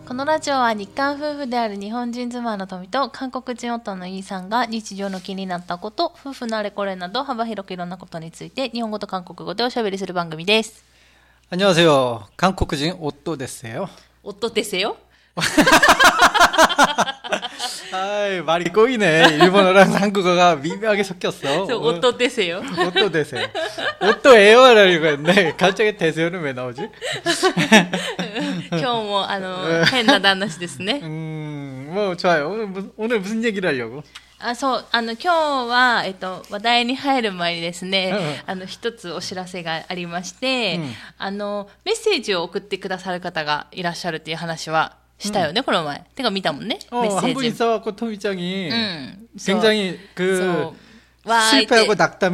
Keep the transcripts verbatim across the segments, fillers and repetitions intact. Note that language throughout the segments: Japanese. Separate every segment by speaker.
Speaker 1: このラジオは日韓夫婦である日本人妻の富と韓国人夫のイーさんが日常の気になったこと、夫婦のあれこれなど幅広くいろんなことについて日本語と韓国語でおしゃべりする番組です。
Speaker 2: 안녕하세요. 한국인 오또 됐어요.
Speaker 1: 오또 됐어요?
Speaker 2: 아이, 말이 꼬이네. 일본어랑 한국어가 미묘하게 섞였어.
Speaker 1: 오또 됐어요?
Speaker 2: 오또 됐어요. 오또예요라고 했는데 갑자기 됐어요는 왜 나오지?
Speaker 1: 今日もあの変な旦那氏ですね。
Speaker 2: 음, 뭐 좋아요. 오늘 무슨, 오늘 무슨 얘기를 하려고?
Speaker 1: あ、そう、あの今日は、えっと、話題に入る前にですね、あの一つお知らせがありまして、うん、あのメッセージを送ってくださる方がいらっしゃるっていう話はしたよね、うん、この前。てか見たもんね、
Speaker 2: 어,
Speaker 1: メッセージ。
Speaker 2: 한 분 있어갖고 토미짱이
Speaker 1: 음,
Speaker 2: 굉장히 그 실패하고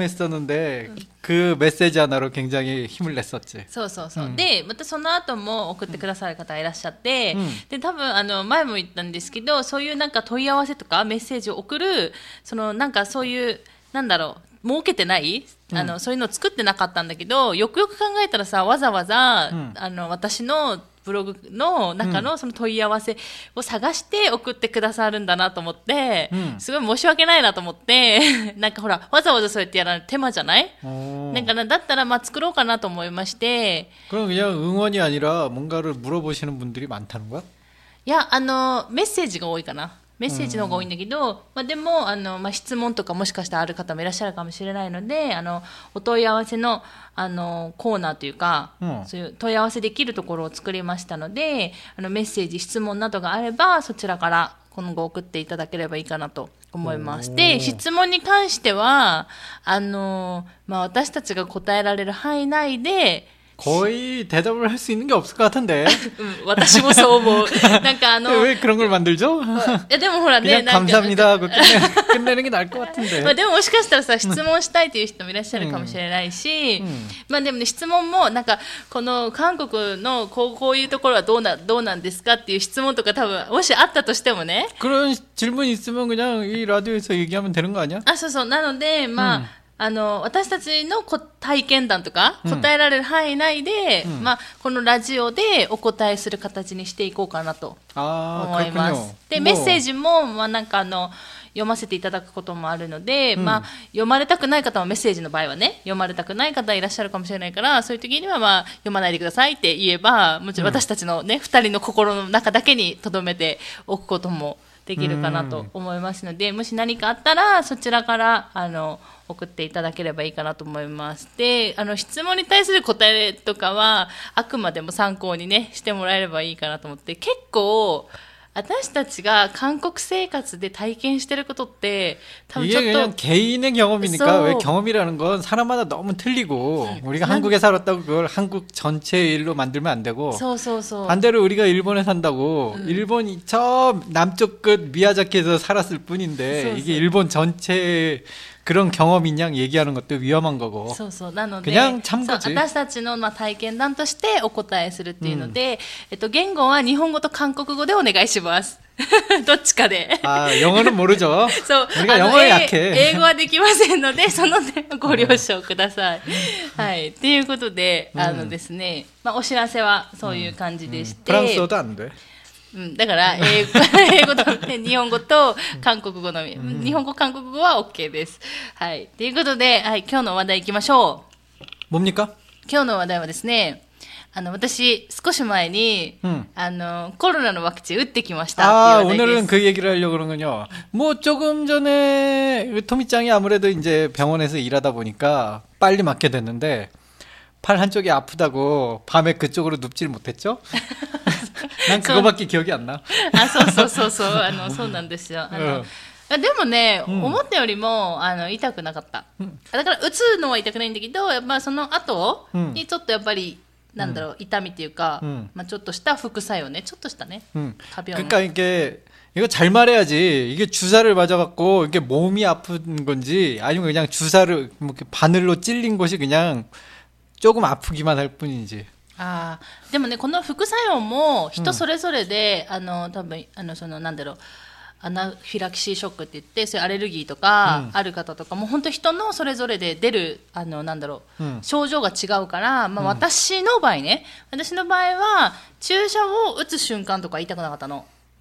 Speaker 2: 낙담했었는데 그 메시지 하나로 굉장히 힘을 냈었지.
Speaker 1: そうそうそう。で、またその後も送ってくださる方がいらっしゃって、うん、で多分あの前も言ったんですけど、そういうなんか問い合わせとかメッセージを送るそのなんかそういうなんだろう設けてないあの、うん、そういうのを作ってなかったんだけど、よくよく考えたらさ、わざわざ、うん、あの私のブログの中のその問い合わせを探して送ってくださるんだなと思って、うん、すごい申し訳ないなと思ってなんかほらわざわざそうやってやらない手間じゃない？なんかだったらまあ作ろうかなと思いまして。
Speaker 2: 그럼 그냥 응원이 아니라 뭔가를 물어보시는 분들이 많다는 거야?
Speaker 1: いや、あのメッセージが多いかな。メッセージの方が多いんだけど、まあ、でもあの、まあ、質問とかもしかしたらある方もいらっしゃるかもしれないので、あのお問い合わせの、あのコーナーというか、うん、そういう問い合わせできるところを作りましたので、あのメッセージ質問などがあればそちらから今後送っていただければいいかなと思います。で、質問に関してはあの、まあ、私たちが答えられる範囲内で
Speaker 2: 거의 대답을 할 수 있는 게 없을 것 같은데.
Speaker 1: 私もそう思う。なんかあの
Speaker 2: 왜 그런 걸 만들죠?
Speaker 1: いやでもほらね、
Speaker 2: 그냥 감사합니다 하고 끝내, 끝내는 게 나을 것 같은데.
Speaker 1: まあでももしかしたらさ、質問したいという人もいらっしゃるかもしれないし、うんうん、まあでもね、質問もなんかこの韓国のこう、こういうところはどうな、どうなんですかっていう質問とか多分もしあったとしてもね。
Speaker 2: 그런 질문 있으면 그냥 이 라디오에서 얘기하면 되는 거 아니야?
Speaker 1: あ、そうそう。なのでまあ、うん、あの私たちの体験談とか答えられる範囲内で、うん、まあ、このラジオでお答えする形にしていこうかなと思います。でメッセージも、まあ、なんかあの読ませていただくこともあるので、うん、まあ、読まれたくない方はメッセージの場合はね、読まれたくない方いらっしゃるかもしれないから、そういう時には、まあ、読まないでくださいって言えば、もちろん私たちのね、うん、ふたりの心の中だけに留めておくこともできるかなと思いますので、もし何かあったらそちらからあの送っていただければいいかなと思います。で、あの質問に対する答えとかはあくまでも参考にねしてもらえればいいかなと思って、結構私たちが韓国生活で体験してることって多分ちょっと
Speaker 2: 이게 그냥 개인의 경험이니까 왜 경험이라는 건 사람마다 너무 틀리고 우리가 한국에 살았다고 그걸 한국 전체의 일로 만들면 안 되고 반대로 우리가 일본에 산다고 음. 일본이 저 남쪽 끝 미야자키에서 살았을 뿐인데 이게 일본 전체 그런 경험인 양 얘기하는 것도 위험한 거고.
Speaker 1: そうそう。なので、
Speaker 2: 그냥 참고지.
Speaker 1: 私たちのまあ体験談としてお答えするっていうので、うん、えっと言語は日本語と韓国語でお願いします。どっちかで。
Speaker 2: あ、영어는 모르죠.
Speaker 1: そう。
Speaker 2: 우리가 영어에 약해.
Speaker 1: 英語はできませんので、その点ご了承ください。はい。ということで、あのですね、まあお知らせはそういう感じでして。
Speaker 2: 프랑스어도 안 돼.
Speaker 1: うん、だから英語、英語と、ね、日本語と韓国語のみ、うん、日本語韓国語は OK です。はい。ということで、はい、今日の話題行きましょ
Speaker 2: う。뭡니까?
Speaker 1: 今日の話題はですね、あの私少し前に、うん、あのコロナのワクチン打ってきましたっていう話題です。
Speaker 2: 아, 오늘은 그 얘기를 하려고 그러는군요. 뭐 조금 전에 토미짱이 아무래도 이제 병원에서 일하다 보니까 빨리 맞게 됐는데 팔 한쪽이 아프다고 밤에 그쪽으로 눕질 못했죠? 난 그거밖에 기억이 안 나.
Speaker 1: あ、そうそうそうそう、あのそうなんですよ。あの、うん、でもね、うん、思ったよりもあの痛くなかった、うん、だから打つのは痛くないんだけど、やっぱその後にちょっとやっぱり、うん、なんだろう、痛みっていうか、うん、まあちょっとした副作用ね、ちょっとしたね。うん、
Speaker 2: 그러니까 이게 이거 잘 말해야지. 이게 주사를 맞아갖고 이게 몸이 아픈 건지 아니면 그냥 주사를 뭐 바늘로 찔린 곳이 그냥 조금 아프기만 할 뿐이지.
Speaker 1: あでもね、この副作用も人それぞれで、うん、あの多分あのそのなんだろう、 アナフィラキシーショックって言って、そういうアレルギーとかある方とか、うん、もう本当人のそれぞれで出るあのなんだろう、うん、症状が違うから、まあ、私の場合ね、うん、私の場合は注射を打つ瞬間とか痛くなかったの。うん、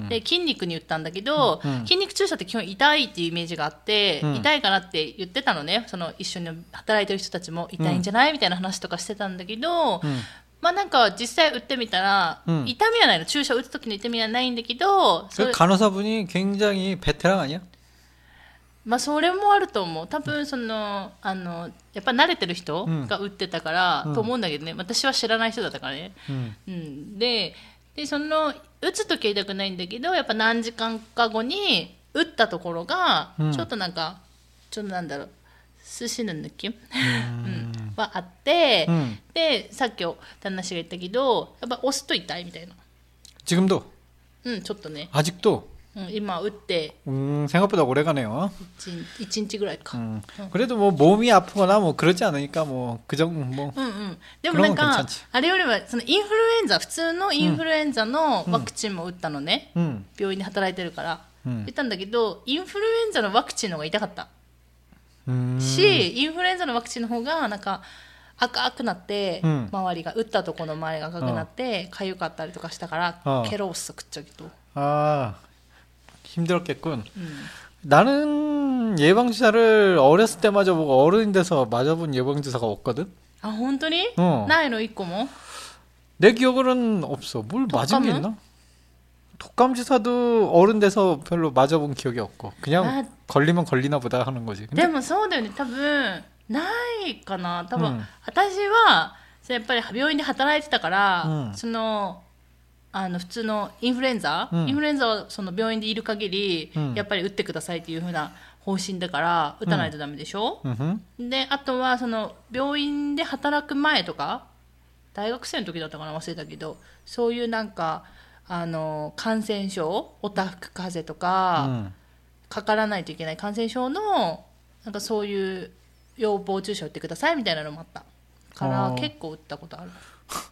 Speaker 1: で筋肉に打ったんだけど、うん、筋肉注射って基本痛いっていうイメージがあって、うん、痛いかなって言ってたのね。その一緒に働いてる人たちも痛いんじゃない、うん、みたいな話とかしてたんだけど、うん、まあなんか実際打ってみたら、うん、痛みはないの。注射打つ時の痛みはないんだけど、
Speaker 2: 그간호사분이굉장히베테랑아니야？
Speaker 1: まあそれもあると思う。多分そのあのやっぱ慣れてる人が打ってたから、うん、と思うんだけどね。私は知らない人だったからね。うんうん、ででその打つときは痛くないんだけど、やっぱ何時間か後に打ったところがちょっとなんか、うん、ちょっとなんだろう、寿司の느낌、うん、はあって、うん、でさっき旦那氏が言ったけど、やっぱ押すと痛いみたいな。
Speaker 2: 지금도？
Speaker 1: うんちょっとね。
Speaker 2: 아직도？
Speaker 1: うん、今打って、
Speaker 2: 음 생각보다 오래 가네요.
Speaker 1: 일日ぐらいか.
Speaker 2: 음. 그래도 뭐 몸이 아프거나 뭐 그러지 않으니까 뭐 그 정도 뭐.
Speaker 1: うんうん。でもなんかあれよりはそのインフルエンザ普通のインフルエンザのワクチンも打ったのね。うん、病院で働いてるから、うん、打ったんだけどインフルエンザのワクチンの方が痛かった。し、インフルエンザのワクチンの方がなんか赤くなって、うん、周りが打ったところの周りが赤くなって痒かったりとかしたからケロッソ食っちゃうけど。
Speaker 2: ああ. 힘들었겠군. 음. 나는 예방주사를 어렸을 때 맞아보고 어른이 돼서 맞아본 예방주사가 없거든.
Speaker 1: 아, 혼돈이? 어. 나이로 있고 뭐?
Speaker 2: 내 기억으로는 없어. 뭘 맞은 게 있나? 독감 주사도 어른 돼서 별로 맞아본 기억이 없고 그냥 아, 걸리면 걸리나 보다 하는 거지.
Speaker 1: 근데もそうだよね。多分ないかな。多分私はやっぱり病院で働いてたから、そのあの普通のインフルエンザ、うん、インフルエンザはその病院でいる限り、うん、やっぱり打ってくださいっていう風な方針だから打たないとダメでしょ、うんうん、であとはその病院で働く前とか大学生の時だったかな忘れたけど、そういうなんかあの感染症オタフク風邪とか、うん、かからないといけない感染症のなんかそういう予防注射打ってくださいみたいなのもあったから結構打ったことある。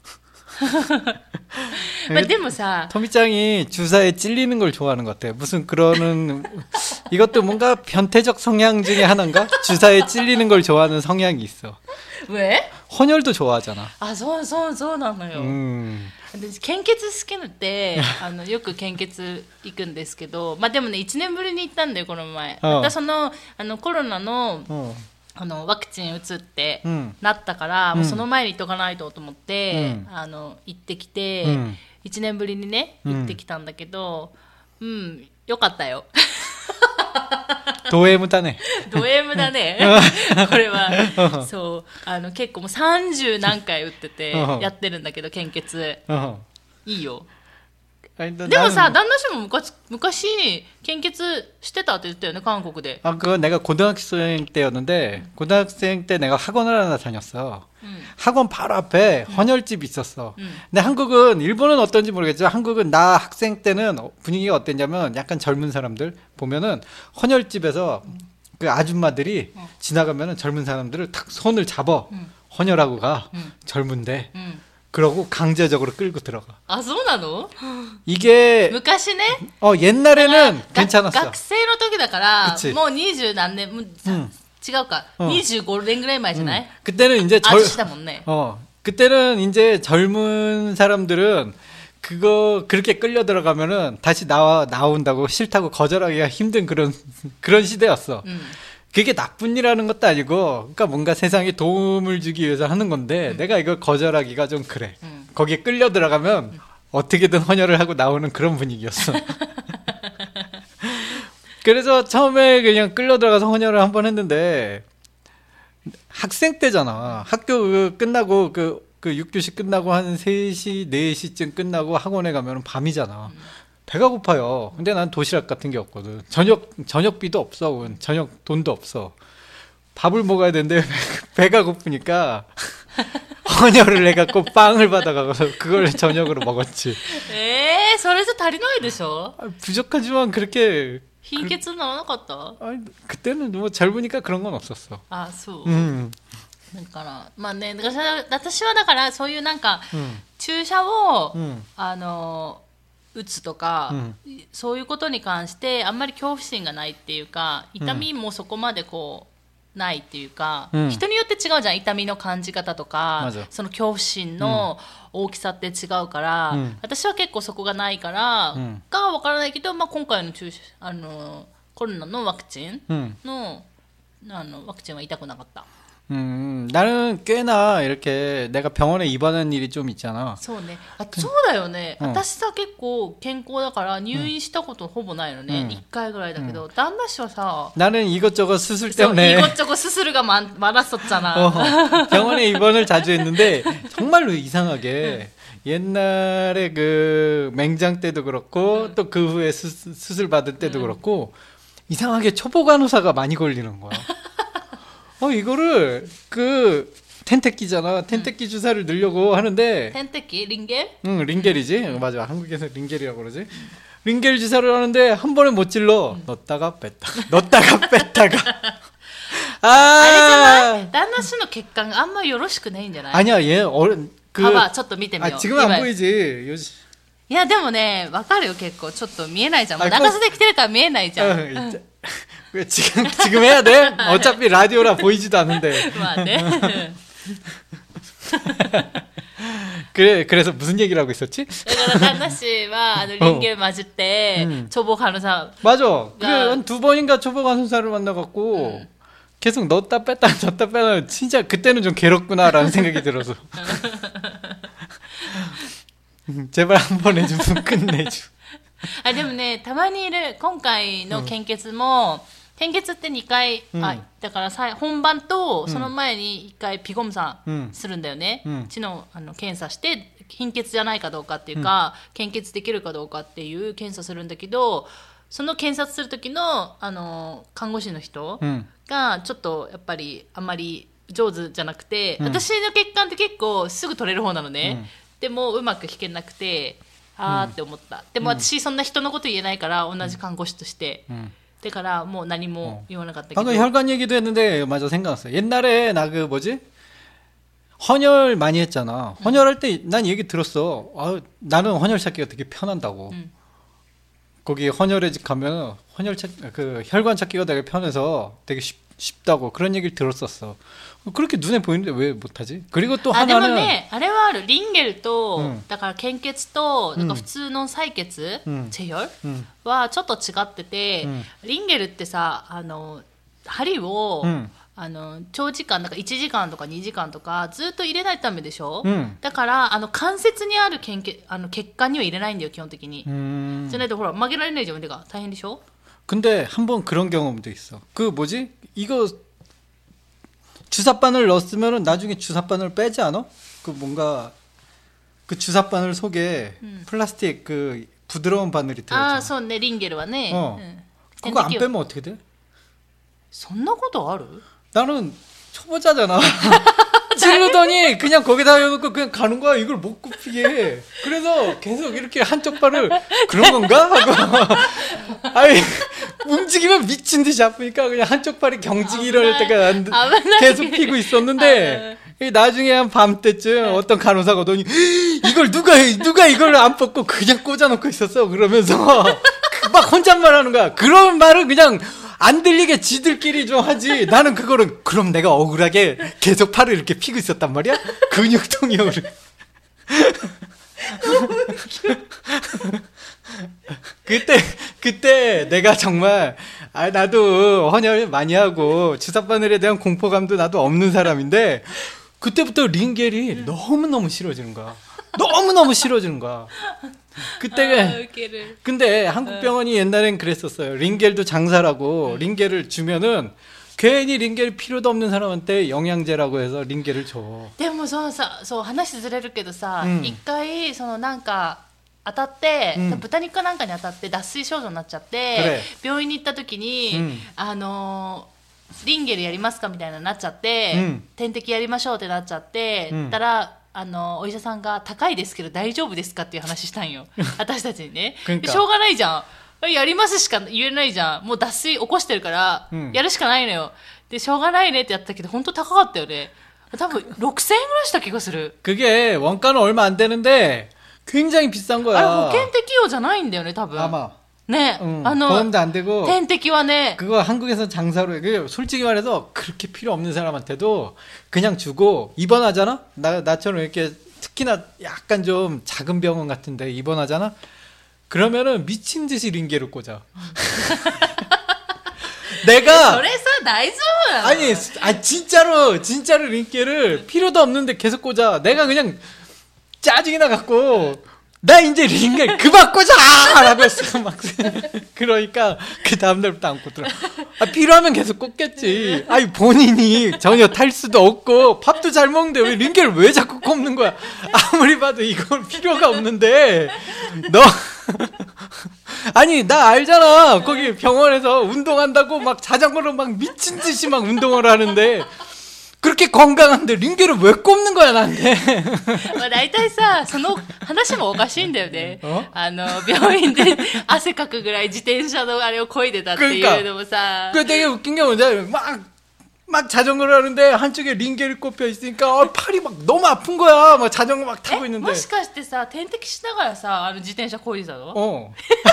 Speaker 1: まあでもさ、
Speaker 2: 토미짱이 주사에 찔리는 걸 좋아하는 것 같아. 무슨 그러는 이것도 뭔가 변태적 성향 중에 하나인가? 주사에 찔리는 걸 좋아하는 성향이 있어.
Speaker 1: 왜?
Speaker 2: 헌혈도 좋아하잖아.
Speaker 1: 아, そうそうそうなのよ。 음. 私献血好きなので、あのよく献血行くんですけど、まあでもねいちねんぶりに行ったんだよこの前。またそのあのコロナの。あのワクチン打つってなったから、うん、もうその前に行っとかないとと思って、うん、あの行ってきて、うん、いちねんぶりにね行ってきたんだけど、うん、うん、よかったよ。
Speaker 2: ド M だね。
Speaker 1: ド M だね。これはそうあの結構もうさんじゅう何回打っててやってるんだけど献血いいよ。でもさ、旦那氏も昔、昔献血してたって言ったよね、韓国で。
Speaker 2: 아 그건 내가 고등학생 때였는데 음. 고등학생 때 내가 학원을 하나 다녔어. 음. 학원 바로 앞에 음. 헌혈집이 있었어. 음. 근데 한국은 일본은 어떤지 모르겠지만 한국은 나 학생 때는 분위기가 어땠냐면 약간 젊은 사람들 보면은 헌혈집에서 음. 그 아줌마들이 어. 지나가면은 젊은 사람들을 탁 손을 잡아 음. 헌혈하고 가. 음. 젊은데. 음. 그러고 강제적으로 끌고 들어가.
Speaker 1: 아, そうなの?
Speaker 2: 이게
Speaker 1: 昔ね.
Speaker 2: 어, 옛날에는 괜찮았어.
Speaker 1: 学生の時だから もうにじゅう何年 음. 違うか. 어. にじゅうご年ぐらい前じゃない?
Speaker 2: 음. 그때는 이제
Speaker 1: 절 아저씨다 못네.
Speaker 2: 어. 그때는 이제 젊은 사람들은 그거 그렇게 끌려 들어가면은 다시 나와 나온다고 싫다고 거절하기가 힘든 그런 그런 시대였어. 음. 그게 나쁜 일하는 것도 아니고, 그러니까 뭔가 세상에 도움을 주기 위해서 하는 건데, 음. 내가 이걸 거절하기가 좀 그래. 음. 거기에 끌려 들어가면 음. 어떻게든 헌혈을 하고 나오는 그런 분위기였어. 그래서 처음에 그냥 끌려 들어가서 헌혈을 한번 했는데, 학생 때잖아. 학교 그 끝나고 그, 그 육 교시 끝나고 한 세 시, 네 시쯤 끝나고 학원에 가면 밤이잖아. 음. 배가 고파요. 근데 난 도시락 같은 게 없거든. 저녁, 저녁비도 없어. 저녁 돈도 없어. 밥을 먹어야 되는데 배가 고프니까 헌혈을 해갖고 빵을 받아가서 그걸 저녁으로 먹었지.
Speaker 1: 에, それじゃ足りないでしょ?
Speaker 2: 부족하지만 그렇게.
Speaker 1: 흰血나오나 같다.
Speaker 2: 아니, 그때는 뭐 젊으니까 그런 건 없었어.
Speaker 1: 아, 소. 음. だからまあね、だから私はだからそういうなんか注射をあの打つとか、うん、そういうことに関してあんまり恐怖心がないっていうか、痛みもそこまでこうないっていうか、うん、人によって違うじゃん、痛みの感じ方とか、その恐怖心の大きさって違うから、うん、私は結構そこがないから、うん、かは分からないけど、まあ、今回の注射あのコロナのワクチンの、うん、あのワクチンは痛くなかった。
Speaker 2: 음, 나는 꽤나 이렇게 내가 병원에 입원한 일이 좀 있잖아.
Speaker 1: そうね。あ、そうだよね。私さ、結構健康だから入院したことほぼないのね。一回ぐらいだけど、旦那氏はさ、
Speaker 2: 나는 이것저것 수술 때문에
Speaker 1: 이것저것 수술가 많, 많았었잖아.
Speaker 2: 어, 병원에 입원을 자주 했는데 정말로 이상하게 옛날에 그 맹장 때도 그렇고 또 그 후에 수, 수술 받을 때도 그렇고 이상하게 초보간호사가 많이 걸리는 거야. 어, 이거를, 그, 텐테키잖아. 텐테키 응. 주사를 넣으려고 하는데.
Speaker 1: 텐테키? 링겔?
Speaker 2: 응, 링겔이지. 응. 맞아. 한국에서 링겔이라고 그러지. 링겔 주사를 하는데 한 번에 못 찔러. 응. 넣었다가 뺐다가. 넣었다가 뺐다가. 아!
Speaker 1: 아니잖아.旦那氏の血管あんまよろしくないんじゃない?
Speaker 2: 아니야, 얘, 어른, 그.
Speaker 1: 봐봐, ちょっと見てみよう.
Speaker 2: 아, 지금 안 보이지. 요즘.
Speaker 1: いや、でもね、わかるよ、結構。ちょっと見えないじゃん。もう長袖着てるから見えないじゃん。うん
Speaker 2: 왜 지금 지금 해야 돼? 어차피 라디오라 보이지도 않는데. 그래 그래서 무슨 얘기를 하고 있었지?
Speaker 1: 그러니까旦那氏は 링겔 맞을 때 음. 초보 간호사.
Speaker 2: 맞아. 그래 한 두 번인가 초보 간호사를 만나갖고 음. 계속 넣었다 뺐다 넣었다 뺐다. 진짜 그때는 좀 괴롭구나라는 생각이 들어서. 제발 한 번 해주면 끝내줘.
Speaker 1: あ、でもね、たまにいる、今回の献血も、うん、献血ってにかい、うん、あ、だからさ、本番とその前にいっかいピゴムさんするんだよね。うん、血の、あの検査して、貧血じゃないかどうかっていうか、うん、献血できるかどうかっていう検査するんだけど、その検察する時の、あの、看護師の人が、ちょっとやっぱりあんまり上手じゃなくて、うん、私の血管って結構すぐ取れる方なのね。うん、でもうまく引けなくて、あーって思った。でも私そんな人のこと言えないから同じ看護師として。だからもう何も言わなかったけど。
Speaker 2: 방금 혈관 얘기도 했는데 맞아 생각났어. 옛날에 나 그 뭐지? 헌혈 많이 했잖아. 헌혈할 때 난 얘기 들었어. 아, 나는 헌혈 찾기가 되게 편한다고. 음. 거기 헌혈에 가면 헌혈 찾, 그 혈관 찾기가 되게 편해서 되게 쉽, 쉽다고 그런 얘기를 들었었어. 그렇게 눈에 보이는데 왜 못하지? 그리고 또 하나는.
Speaker 1: でもね、あれはある。リンゲルと、だから献血と、なんか普通の採血、チェヒョルはちょっと違ってて、リンゲルってさ、あの針を、あの長時間、なんかいちじかんとかにじかんとかずっと入れないためでしょ。だからあの関節にある献血、あの血管には入れないんだよ基本的に。じゃないとほら曲げられないじゃん腕が大変でしょ。
Speaker 2: 근데 한번 그런 경험도 있어. 그 뭐지? 이거 주사바늘 넣었으면은 나중에 주사바늘 빼지 않아? 그 뭔가 그 주사바늘 속에 음. 플라스틱 그 부드러운 바늘이 들어있잖아.
Speaker 1: 아, そうね, 링겔은ね.
Speaker 2: 어. 응. 그거 안 빼면 어떻게 돼?
Speaker 1: そんなことある?
Speaker 2: 나는 초보자잖아. 찌르더니 그냥 거기다 해놓고 그냥 가는 거야. 이걸 못 굽히게. 그래서 계속 이렇게 한쪽 발을 그런 건가? 하고 아니 움직이면 미친 듯이 아프니까 그냥 한쪽 발이 경직이 일어날 때가 계속 피고 있었는데 나중에 한 밤 때쯤 어떤 간호사가 오더니 이걸 누가 누가 이걸 안 뽑고 그냥 꽂아놓고 있었어. 그러면서 막 혼잣말 하는 거야. 그런 말을 그냥 안 들리게 지들끼리 좀 하지. 나는 그거를 그럼 내가 억울하게 계속 팔을 이렇게 피고 있었단 말이야. 근육통이 오르. 그때 그때 내가 정말 아 나도 헌혈 많이 하고 주사바늘에 대한 공포감도 나도 없는 사람인데 그때부터 링겔이 너무 너무 싫어지는 거야. 너무 너무 싫어지는 거야. 그때 아, 근데 한국 병원이 옛날엔 그랬었어요. 링겔도 장사라고 링겔을 주면은 괜히 링겔 필요도 없는 사람한테 영양제라고 해서 링겔을 줘.
Speaker 1: でもそうさ、そう話ずれるけどさ、一回そのなんか当たって、豚肉かなんかに当たって脱水症状になっちゃって、病院に行った時にあのリンゲルやりますかみたいななっちゃって、点滴やりましょうってなっちゃって、たら。あのお医者さんが高いですけど大丈夫ですかっていう話したんよ私たちにねでしょうがないじゃんやりますしか言えないじゃんもう脱水起こしてるから、うん、やるしかないのよでしょうがないねってやったけど本当高かったよね多分ろくせんえんぐらいした気がする
Speaker 2: 그게 원가는 얼마 안 되는데 굉장히 비싼 거야.
Speaker 1: あれ保険適用じゃないんだよね多分。
Speaker 2: 아마.
Speaker 1: 네.
Speaker 2: 응,
Speaker 1: 아,
Speaker 2: 보험도 안 되고.
Speaker 1: 텐테키와 네.
Speaker 2: 그거 한국에서 장사로 해. 솔직히 말해서 그렇게 필요 없는 사람한테도 그냥 주고 입원하잖아. 나 나처럼 이렇게 특히나 약간 좀 작은 병원 같은데 입원하잖아. 그러면은 미친 듯이 링게를 꽂아. 내가 아니, 아 진짜로 진짜로 링게를 필요도 없는데 계속 꽂아. 내가 그냥 짜증이 나갖고. 나 이제 링게 그만 꽂아! 라고 했어. 막. 그러니까 그 다음날부터 안 꽂더라. 아, 필요하면 계속 꽂겠지. 아니, 본인이 전혀 탈 수도 없고 밥도 잘 먹는데 왜 링게를 왜 자꾸 꼽는 거야? 아무리 봐도 이건 필요가 없는데 너 아니 나 알잖아. 거기 병원에서 운동한다고 막 자전거로 막 미친 듯이 막 운동을 하는데 그렇게 건강한데 링게를 왜 꼽는 거야 나한테?
Speaker 1: まあ大体さその話もおかしいんだよね。あの病院で汗かくぐらい自転車のあれを漕いでたっていうのもさ。
Speaker 2: 그 되게 웃긴 게 뭐냐 막 막 자전거를 하는데 한쪽에 링게를 꼽혀 있으니까 어, 팔이 막 너무 아픈 거야. 막 자전거 막 타고 있는데.
Speaker 1: もしかしてさ点滴しながらさあの自転車漕いでたの？
Speaker 2: 어.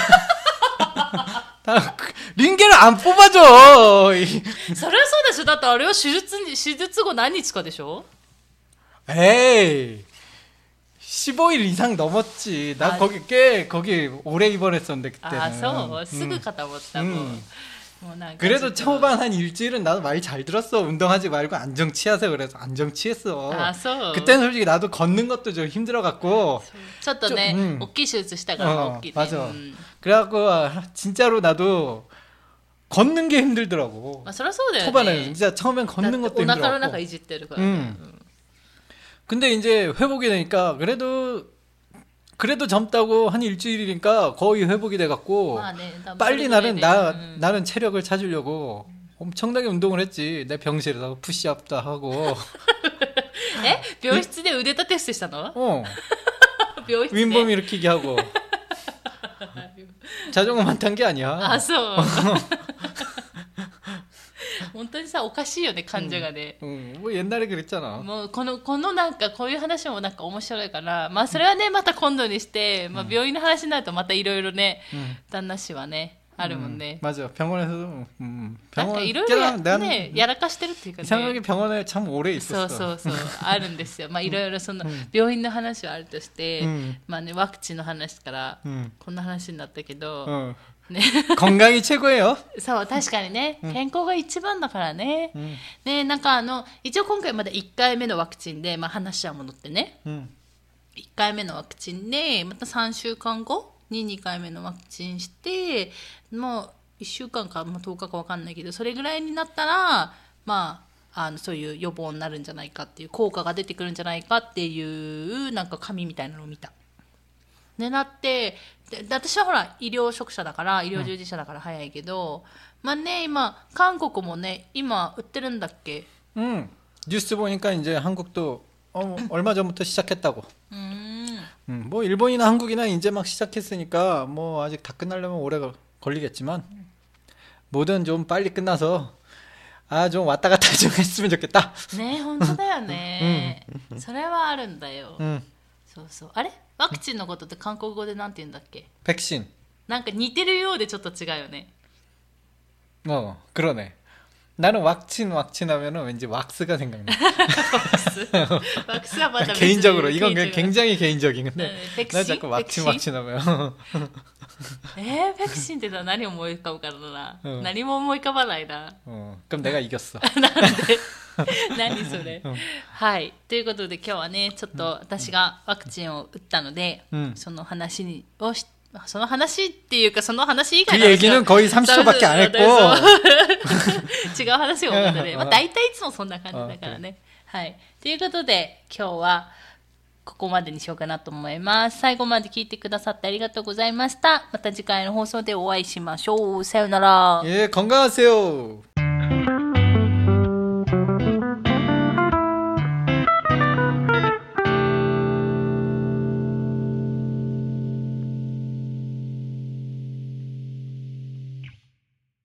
Speaker 2: 링게를 안 뽑아줘.
Speaker 1: それはそうでしょ。だってあれは手術に手術後何日かでしょ？
Speaker 2: 에이. 십오 일 이상 넘었지. 나 아, 거기 꽤 거기 오래 입원했었는데 그때는.
Speaker 1: 아, 서 쓰고 갔다 왔다고.
Speaker 2: 음. 그래도 초반 한 일주일은 나도 많이 잘 들었어. 운동하지 말고 안정 취하세요. 그래서 안정 취했어.
Speaker 1: 아, 서.
Speaker 2: 그때는 솔직히 나도 걷는 것도 좀 힘들어갖고.
Speaker 1: ちょっとね、 음. 大きい手術したから 大きいね.
Speaker 2: 맞아. 음. 그래갖고 진짜로 나도 걷는 게 힘들더라고.
Speaker 1: 아, そりゃそうだよね.
Speaker 2: 초반에 진짜 처음엔 걷는 것도 힘들었고.
Speaker 1: お腹の中いじってるからね.
Speaker 2: 음. 근데 이제 회복이 되니까 그래도 그래도 젊다고 한 일주일이니까 거의 회복이 돼갖고 아, 네. 빨리 나는 나 음. 나는 체력을 찾으려고 엄청나게 운동을 했지. 내 병실에서 푸시업도 하고.
Speaker 1: 에? 병실에 의대 테스트 했어?
Speaker 2: 어. 윗몸 일으키기 하고. 자전거만 탄 게 아니야.
Speaker 1: 아, 소. 本当にさおかしいよね患者がね。
Speaker 2: うん、もう옛날에 그랬잖아。
Speaker 1: もうこのこのなんかこういう話もなんか面白いから、まあそれはねまた今度にして、まあ病院の話になるとまたいろいろね、旦那氏はねあるもんね。
Speaker 2: 맞아 병원에서도 음,
Speaker 1: 병원 なんかいろいろやねやらかしてるっていうかね。
Speaker 2: 이상하게 병원에 참 오래 있었어。
Speaker 1: そうそうそうあるんですよ。まあいろいろその病院の話はあるとして、まあねワクチンの話からこんな話になったけど。ね、
Speaker 2: 건강이 최고예요。
Speaker 1: そう確かにね、うん、健康が一番だからね、うん、ねなんかあの一応今回まだいっかいめのワクチンで、まあ、話は戻ってね、うん、いっかいめのワクチンでまたさんしゅうかんごににかいめのワクチンしてもういっしゅうかんか、まあ、とおかか分かんないけどそれぐらいになったらまああのそういう予防になるんじゃないかっていう効果が出てくるんじゃないかっていうなんか紙みたいなのを見た。でなってで私はほら医療職者だから医療従事者だから早いけど、うん、まあね今韓国もね今売ってるんだっけ？
Speaker 2: 응. 뉴스 보니까 이제 한국도 어, 얼마 전부터 시작했다고. 음. 음, 뭐 일본이나 한국이나 이제 막 시작했으니까 뭐 아직 다 끝나려면 오래 걸리겠지만 뭐든 좀 빨리 끝나서 아 좀 왔다 갔다 좀 했으면 좋겠다.
Speaker 1: 네, 本当だよね。それはあるんだよ。そうそう。あれ？ワクチンのことって韓国語でなんて言うんだっけ？
Speaker 2: 백신。
Speaker 1: なんか似てるようでちょっと違うよね。
Speaker 2: 어, 그러네. 나는 왁친 왁친 하면은 왠지 왁스가 생각나.
Speaker 1: 왁스. 왁스가 맞아.
Speaker 2: 개인적으로 이건 굉장히 개인적인 건데. 네, 나 자꾸 왁친 왁친 하면.
Speaker 1: えー、백신って何思い浮かぶからな。うん、何も思い浮かばないな。
Speaker 2: うん、그럼 내가 이겼어。
Speaker 1: なんで何それ、うん、はいということで今日はねちょっと私がワクチンを打ったので、うん、その話をしその話っていうかその話以外の話
Speaker 2: 그 얘기는 거의 삼십 초밖에 안 했고
Speaker 1: 違う話を思ったね。まあ大体いつもそんな感じだからね。はいということで今日はここまでにしようかなと思います。最後まで聞いてくださってありがとうございました。また次回の放送でお会いしましょう。さよなら。
Speaker 2: 예、건강하세요。